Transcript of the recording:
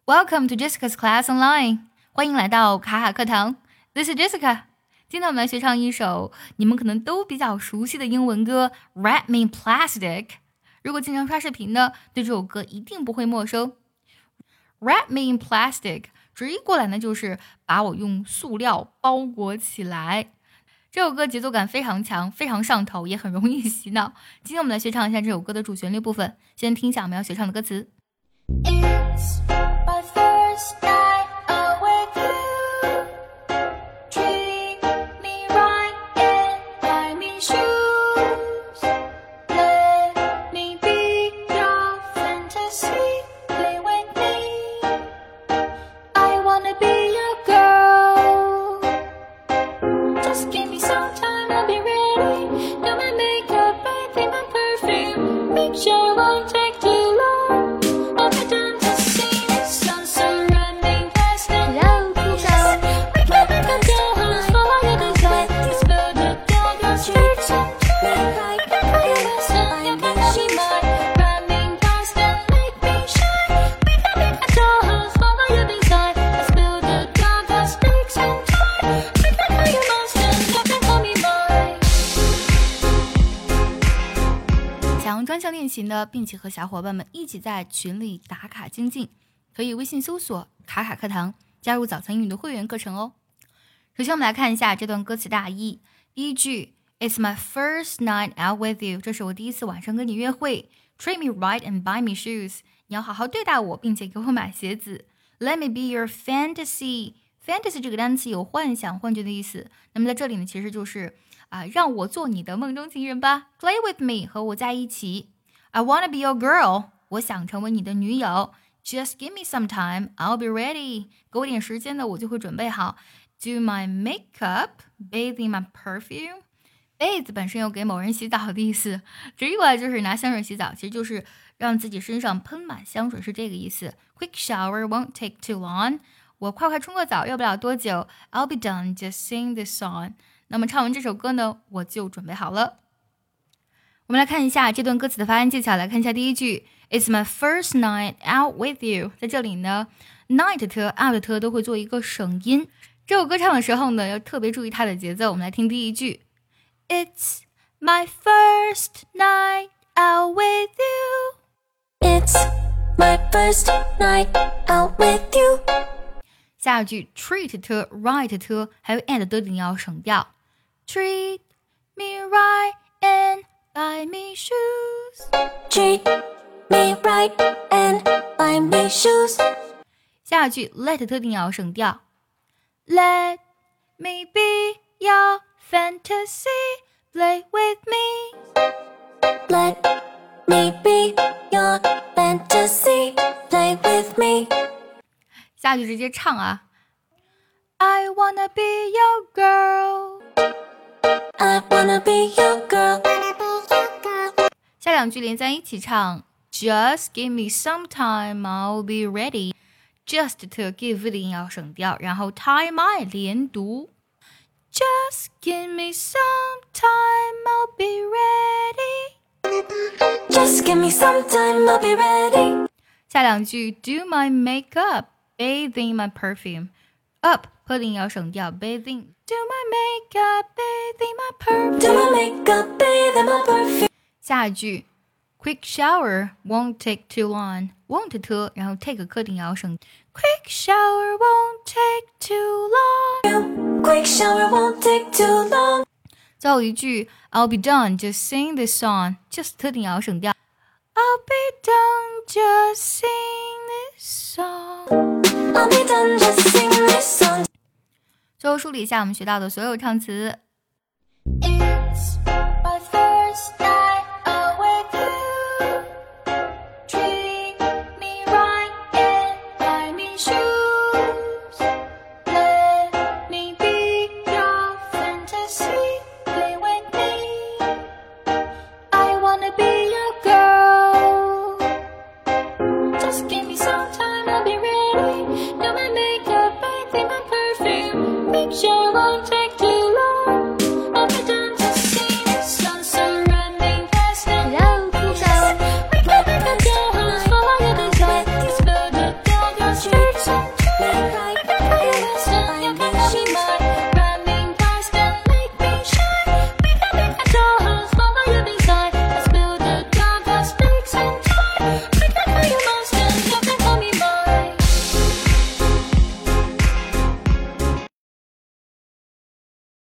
Welcome to Jessica's Class Online， 欢迎来到卡卡课堂。This is Jessica。今天我们来学唱一首你们可能都比较熟悉的英文歌 Wrap Me in Plastic。如果经常刷视频呢，对这首歌一定不会陌生。Wrap Me in Plastic 直译过来呢，就是把我用塑料包裹起来。这首歌节奏感非常强，非常上头，也很容易洗脑。今天我们来学唱一下这首歌的主旋律部分，先听一下我们要学唱的歌词。 It's my first night out with you. Treat me right and buy me shoes. Let me be your fantasy. Play with me. I wanna be your girl. Just give me some time, I'll be ready. Do my makeup, I think my perfume. Make sure it won't take too long. I'll be done to see the sun surrounding us. Hello， We can make a dollhouse for your design. Spill the dollhouse streets and try. We can call you my son, you can call me mine. Running past and make me shine. We can make a dollhouse for your design. Spill the dollhouse streets and try. We can call you my son, you can call me mine. 想要专项练习呢，并且和小伙伴们一起在群里打卡精进，可以微信搜索卡卡课堂，加入早餐英语的会员课程哦。首先我们来看一下这段歌词大意。第一句 It's my first night out with you， 这是我第一次晚上跟你约会。 Treat me right and buy me shoes， 你要好好对待我，并且给我买鞋子。 Let me be your fantasy， fantasy 这个单词有幻想幻觉的意思，那么在这里呢，其实就是让我做你的梦中情人吧。 Play with me， 和我在一起。 I wanna be your girl， 我想成为你的女友。 Just give me some time, I'll be ready， 给我点时间呢，我就会准备好。 Do my makeup, bathe in my perfume。 bathe 本身有给某人洗澡的意思，直译过来就是拿香水洗澡，其实就是让自己身上喷满香水，是这个意思。 Quick shower won't take too long， 我快冲个澡，要不了多久。 I'll be done, just sing this song。那么唱完这首歌呢，我就准备好了。我们来看一下这段歌词的发音技巧，来看一下第一句 It's my first night out with you。 在这里呢 night 特 out 特都会做一个省音，这首歌唱的时候呢，要特别注意它的节奏。我们来听第一句 It's my first night out with you。 It's my first night out with you. 下一句 treat 特 right 特还有 and 的你要省掉。 Treat me right and buy me shoes。 Treat me right and buy me shoes. 下一句 let 特定要省掉。 Let me be your fantasy, play with me。 Let me be your fantasy. Play with me. 下句直接唱啊。 I wanna be your girl。 I wanna be your girl. 下两句连在一起唱。 Just give me some time, I'll be ready。 Just 特 give 的音要省掉，然后 time I 连读。 Just give me some time, I'll be ready。 Just give me some time, I'll be ready. 下两句 Do my makeup, bathe in my perfume。 Up 破的音要省掉， bathe in。 Do my makeup, bathe in my perfume。 Do my makeup, bathe in my perfume. 下一句 Quick shower won't take too long。 won't 特然后 take 课定要省。 Quick shower won't take too long。 Quick shower won't take too long. 最后一句 I'll be done, just sing this song。 just 特定要省掉。 I'll be done, just sing this song。 I'll be done, just sing this song. 最后梳理一下我们学到的所有唱词。 It's my first night out with you. Treat me right and buy me shoes. Let me be your fantasy. Play with me. I wanna be your girl. Just give me some time, I'll be ready.